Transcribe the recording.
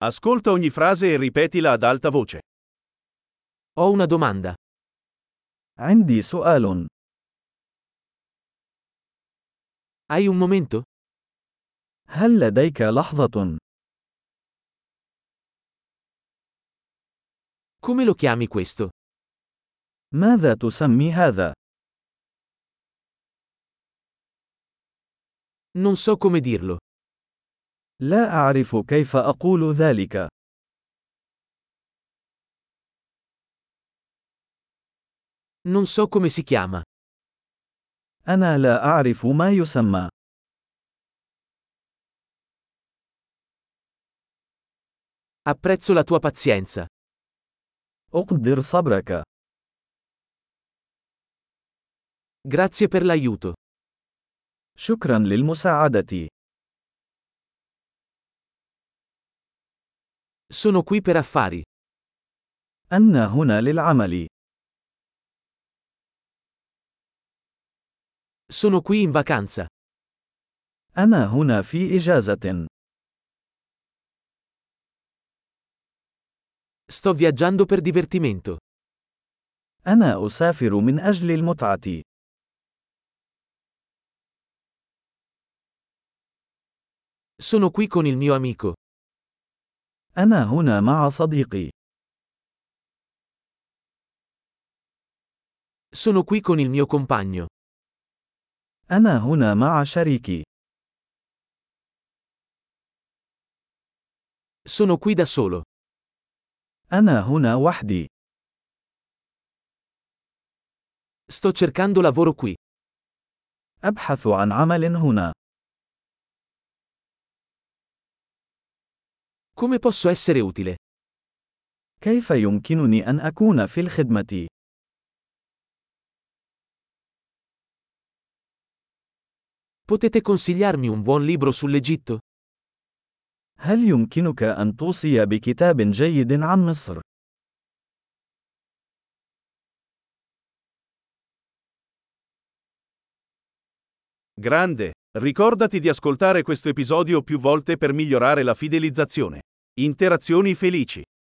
Ascolta ogni frase e ripetila ad alta voce. Ho una domanda. عندي سؤال. Hai un momento? هل لديك لحظة؟ Come lo chiami questo? ماذا تسمي هذا؟ Non so come dirlo. لا أعرف كيف أقول ذلك. Non so come si chiama. أنا لا أعرف ما يسمى. Apprezzo la tua pazienza. أقدر صبرك. Grazie per l'aiuto. شكرا للمساعدة. Sono qui per affari. أنا هنا للعمل. Sono qui in vacanza. أنا هنا في إجازة. Sto viaggiando per divertimento. أنا أسافر من أجل المتعة. Sono qui con il mio amico. أنا هنا مع صديقي. Sono qui con il mio compagno. أنا هنا مع شريكي. Sono qui da solo. أنا هنا وحدي. Sto cercando lavoro qui. أبحث عن عمل هنا. Come posso essere utile? كيف يمكنني أن أكون في الخدمة؟ Potete consigliarmi un buon libro sull'Egitto? هل يمكنك أن توصي بكتاب جيد عن مصر؟ Grande! Ricordati di ascoltare questo episodio più volte per migliorare la fidelizzazione. Interazioni felici.